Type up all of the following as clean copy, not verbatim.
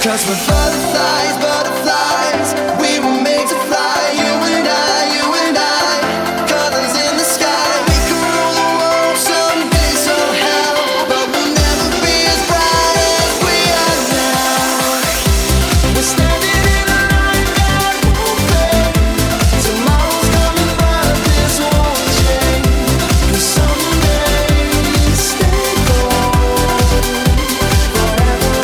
'Cause we're butterflies, butterflies. We were made to fly, you and I, colors in the sky. We could rule the world someday, somehow, but we'll never be as bright as we are now. We're standing in a line that won't fade. Tomorrow's coming, but this won't change. 'Cause someday stay gold forever.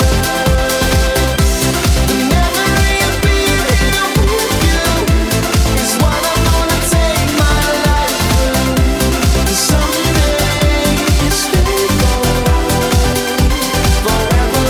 Never reappear here with you is what I'm gonna take my life through. 'Cause someday stay gold forever.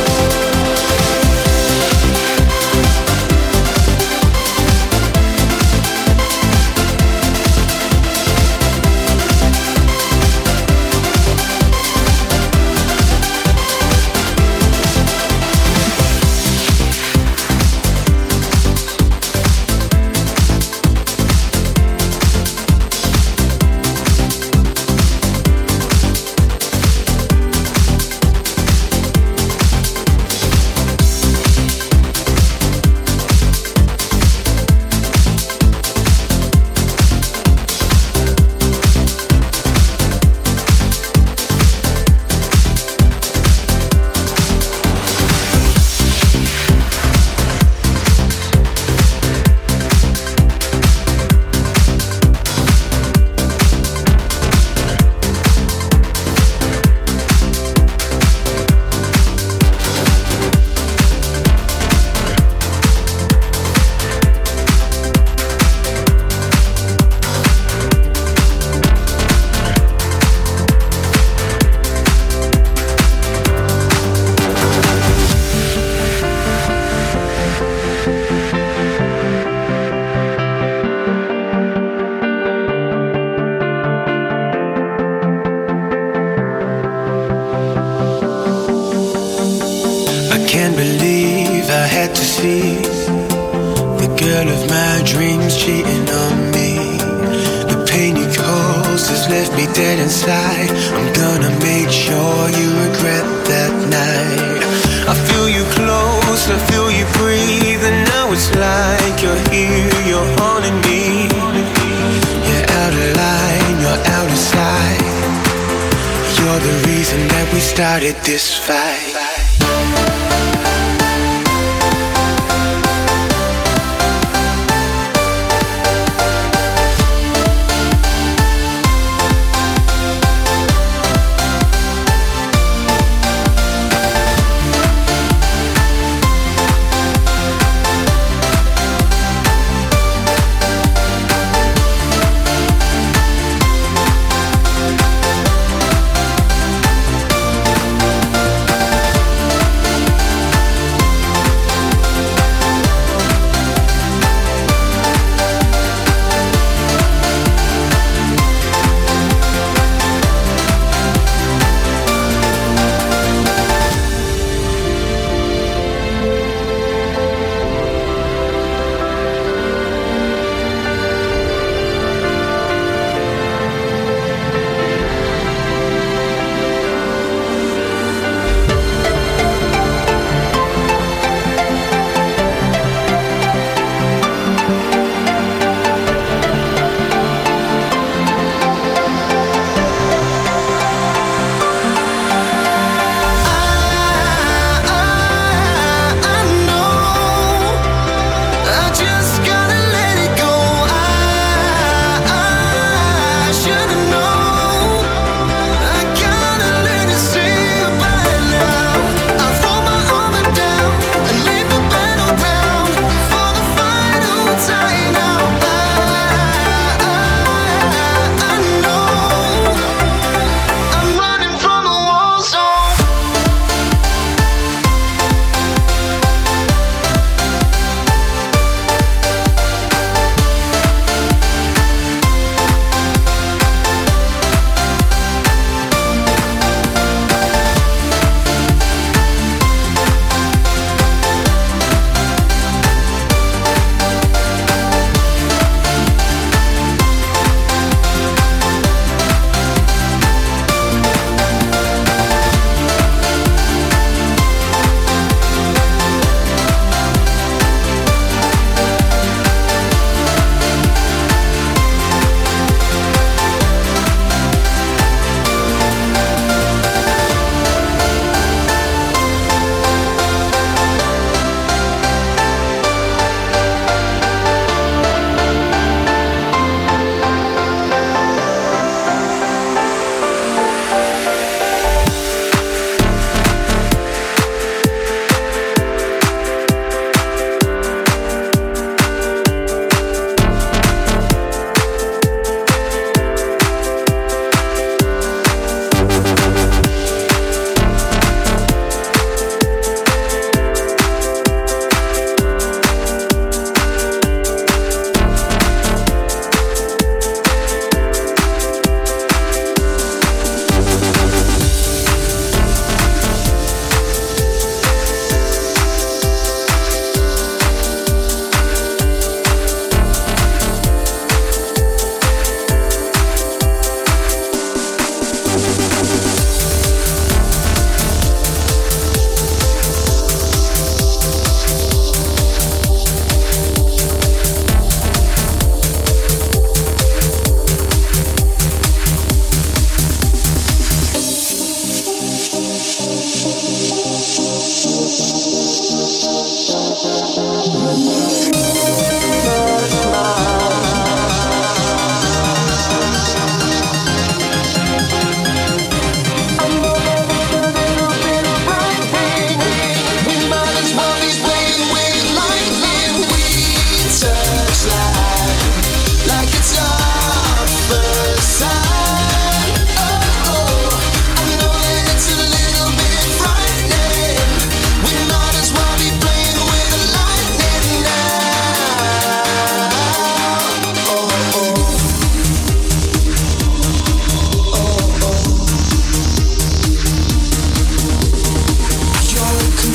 I can't believe I had to see the girl of my dreams cheating on me. The pain you caused has left me dead inside. I'm gonna make sure you regret that night. I feel you close, I feel you breathe, and now it's like you're here, you're haunting me. You're out of line, you're out of sight. You're the reason that we started this fight.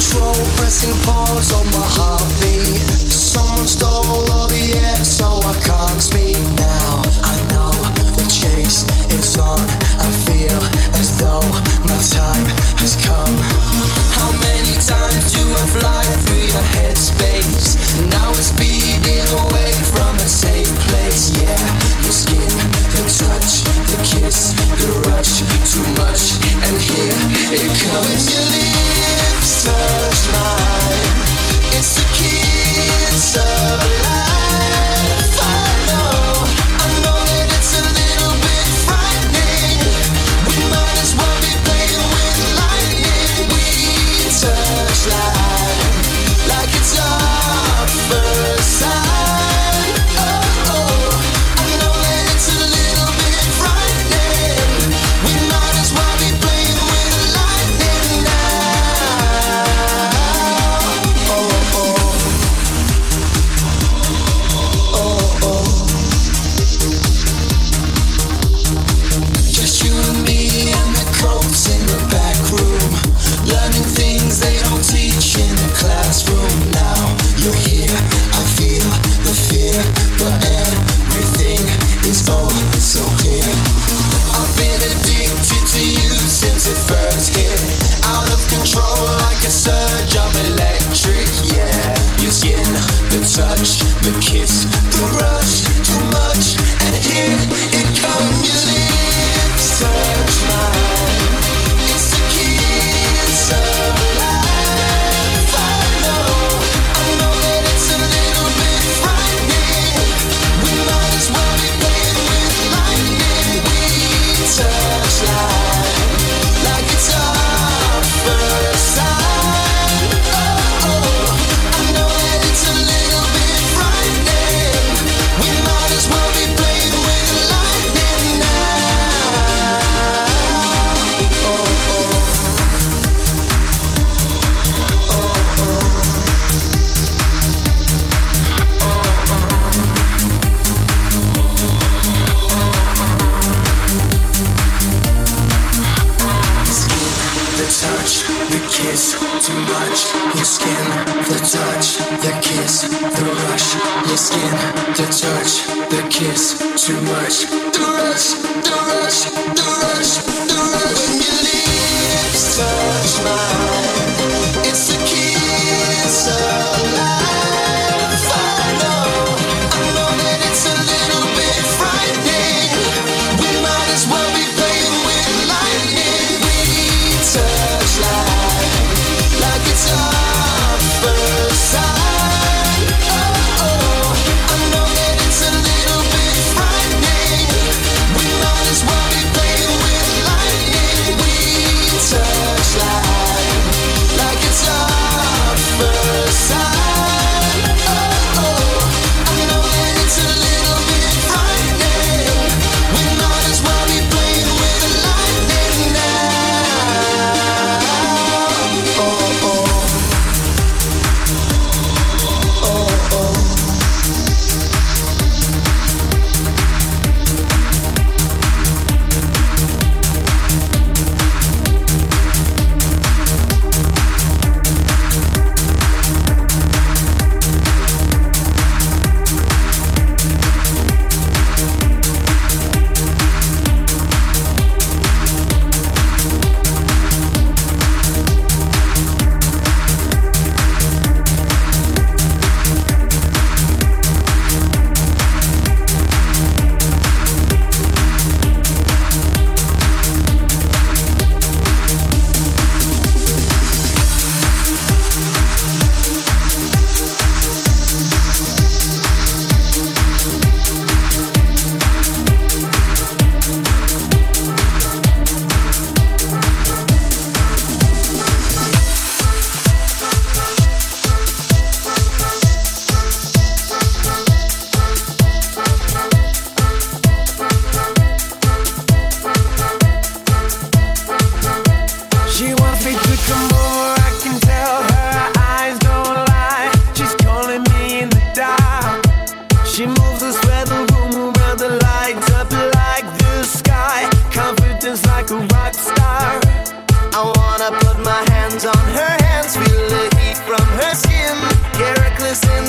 Touch life.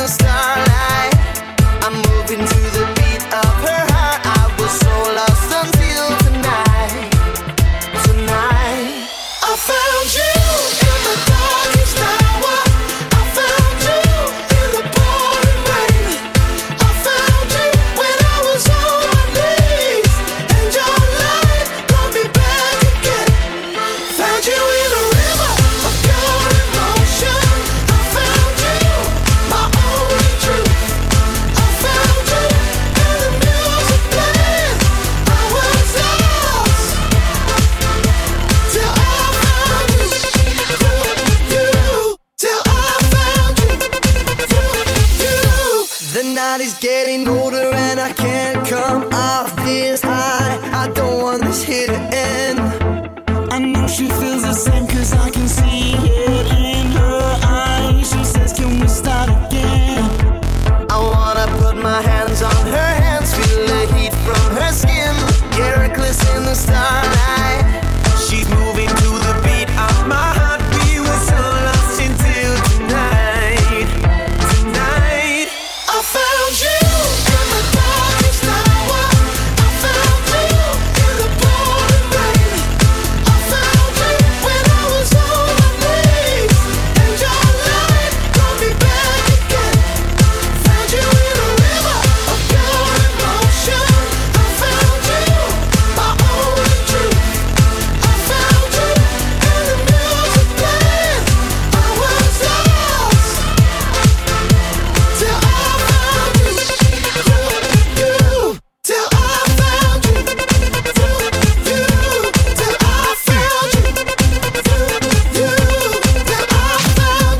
the starlight. I'm moving to the beat of her heart. I was so lost until tonight. Tonight I found you in the darkest hour. I found you in the pouring rain. I found you when I was on my knees, and your light brought me back again. Found you in a river of pure emotion. I found you, my only truth. I found you in the music playing. I was lost till I found you. Till I found you. The night is getting older and I can't come off this high. I don't want this here to end. I know she feels the same, cause I can see it in her eyes. She says, can we start again? I wanna put my hands on her hands, feel the heat from her skin. Get her in the starlight. She's moving to the beat of my heart. We were so lost until tonight. Tonight I found you in the darkest hour. I found you in the pouring rain. I found you when I was on my knees, and your light brought me back again. Found you in a river of pure emotion. I found you, my only truth. I found you in the music playing. I was lost till I found you. Till I found you. Till I found you. Till I found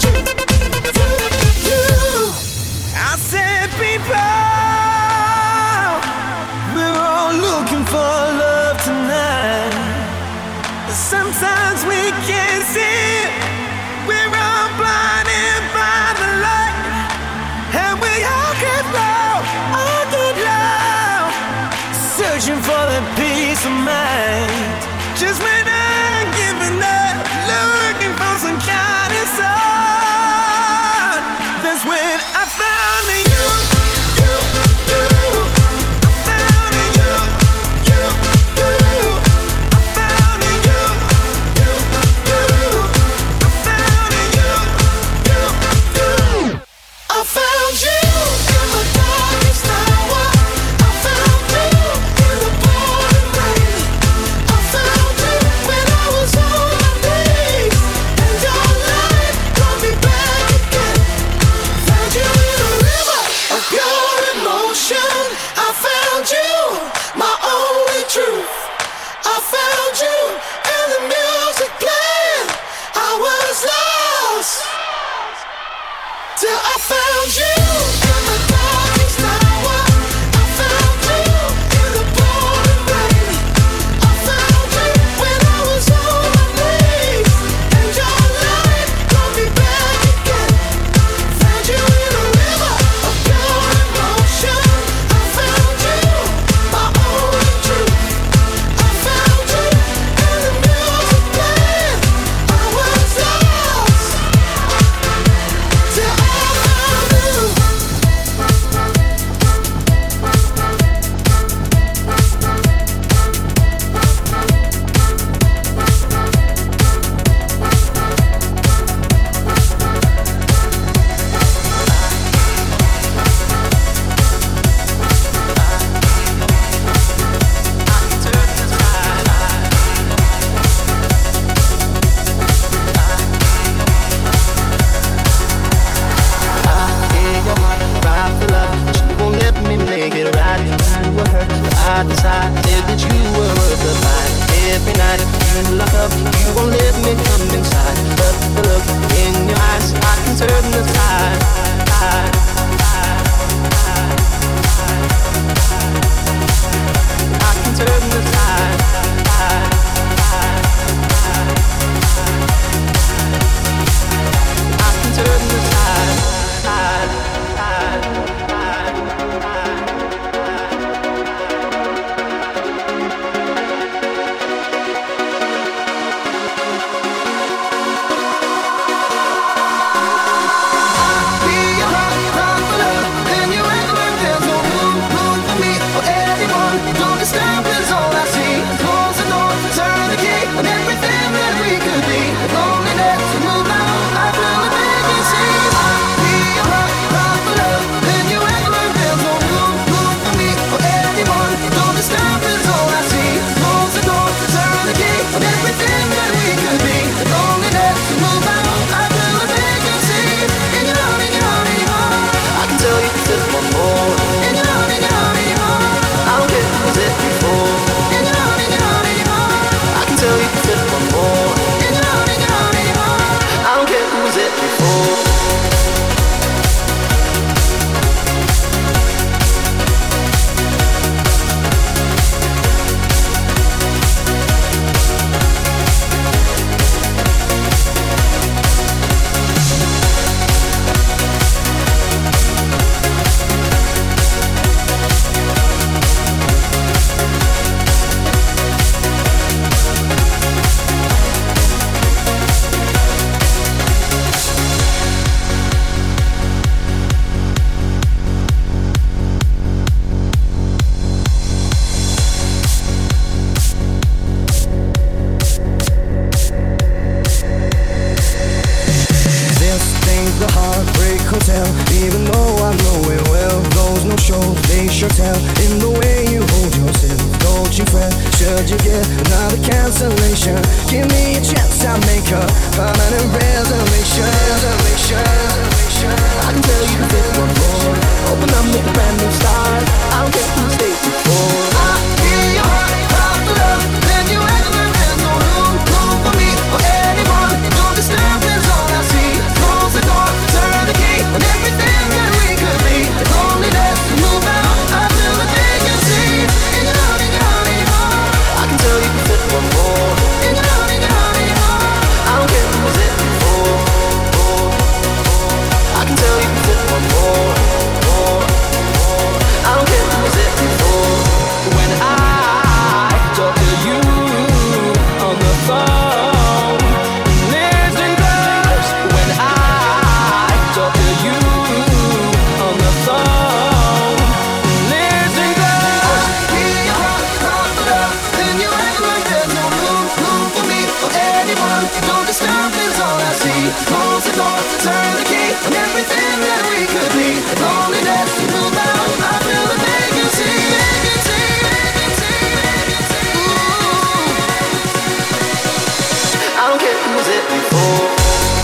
you. I said, people, we're all looking for love tonight. Sometimes we can't see it. We're all blinded by the light, and we all get low, searching for the peace of mind. Just when I'm giving up, looking for some kind of sun, that's when I found you. I found you. I found you. I found you in the darkest hour. I found you in the pouring rain. I found you when I was on my knees, and your light brought me back again. Found you in a river of pure emotion. I found you, my only truth. I found you in the music playing. I was lost till I found you in the darkest hour. I found you in the pouring rain. I found you when I was on my knees, and your light brought me back again. Found you in a river of pure emotion. I found you, my only truth. I found you in the music playing. I was lost till I found you. sure tell in the way you hold yourself. Don't you fret, should you get another cancellation, give me a chance, I'll make a permanent reservation. I can tell you to fit one more, open up, make a brand new start. I don't care who stayed before. I hear your heart cry for love, then you act like there's no room for me or anyone. No disturbance, all I see. Close the door, turn the key, and everything that we could be. Loneliness, move out, I feel the vacancy. In your heart, in your heart, in your heart, I can tell you to fit one more. In your heart, in your heart, in your heart, I don't care who was it before. I can tell you to fit one more. I don't care who was it before. When I talk to you on the phone, listen close. When I talk to you on the phone, listen close. I hear your heart cry for love, then you act like there's no room for me or anyone. No disturbance, all I see. Close the door, turn the key, and everything that we could be. Loneliness, move out, I feel the vacancy. I don't care who was it before.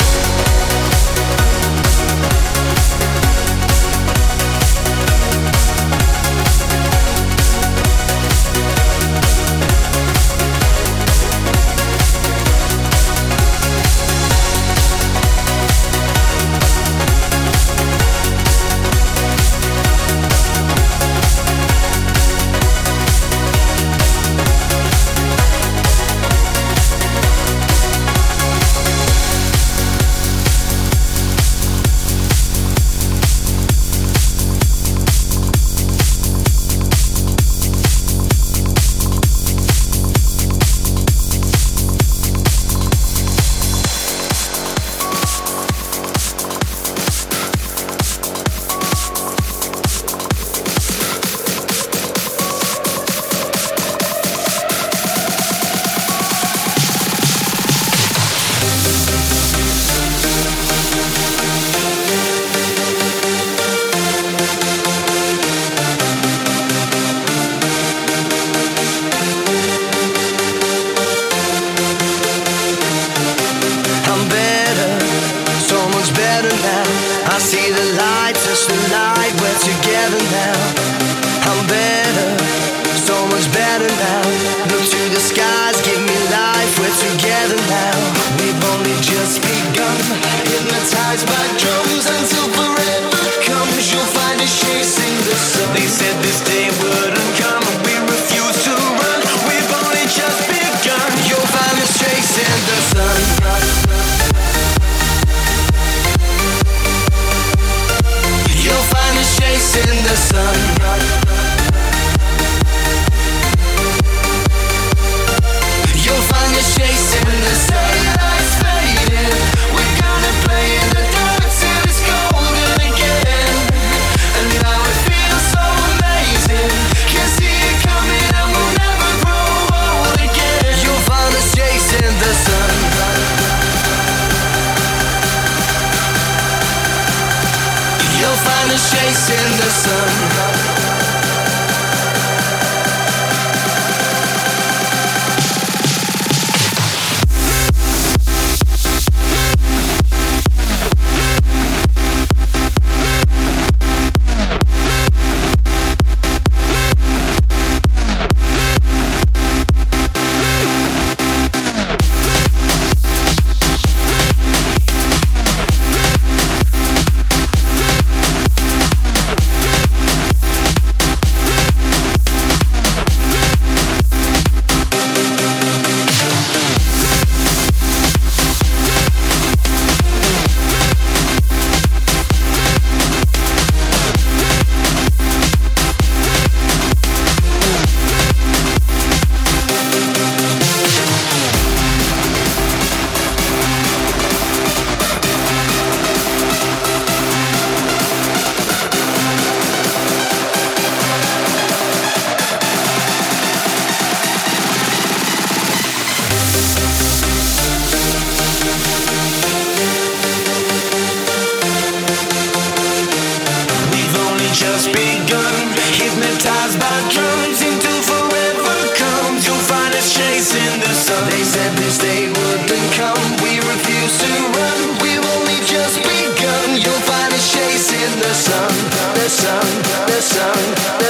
Chasing the sun.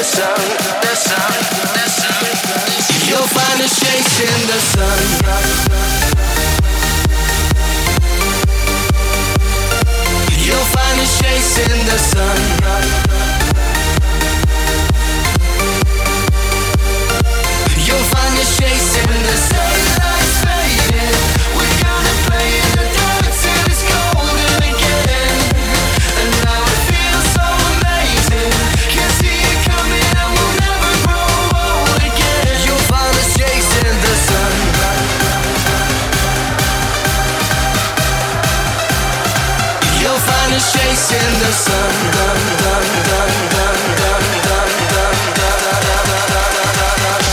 sun, the sun, the sun. You'll find us chasing the sun. You'll find us chasing the sun. You'll find us chasing the sun. Lights fading, we're gonna play in the dark till it's golden again. And now it feels so amazing. Can't see it coming and we'll never grow old again. You'll find us chasing the sun. You'll find us chasing the sun. Dun, dun, dun, dun, dun, dun, dun, dun, dun, dun, dun, dun, dun.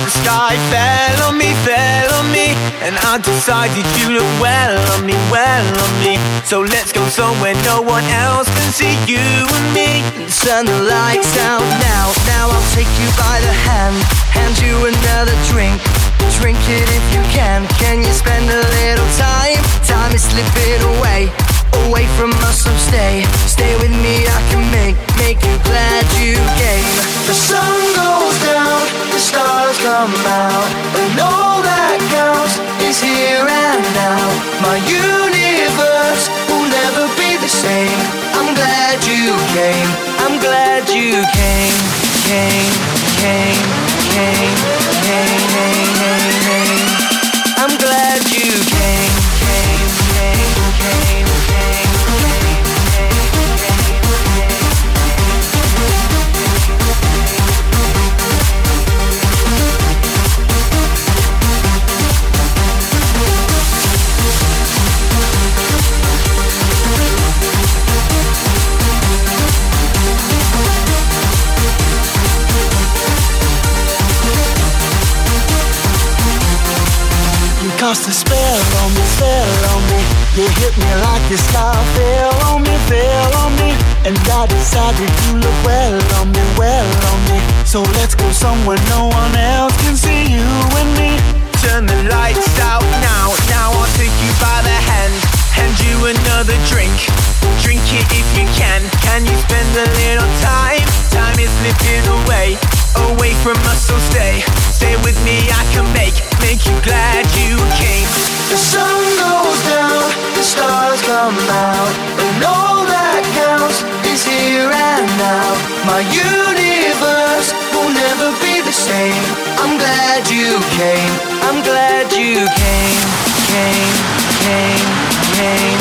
The sky fell on me, and I decided you look well on me, well on me. So let's go somewhere no one else can see you and me. Turn the lights out now, now I'll take you by the hand you another drink. Drink it if you can you spend a little time? Time is slipping away from us, so stay with me, I can make you glad you came. The sun goes down, the stars come out, and all that counts is here and now. My universe will never be the same. I'm glad you came, I'm glad you came. I'm glad you came. Cast a spell on me, you hit me like the sky fell on me, and I decided you look well on me. So let's go somewhere no one else can see you and me. Turn the lights out now, now I'll take you by the hand you another drink. Drink it if you can you spend a little time? Time is slipping away from us, so stay with me, I can make you glad you came. The sun goes down, the stars come out, and all that counts is here and now. My universe will never be the same. I'm glad you came, I'm glad you came.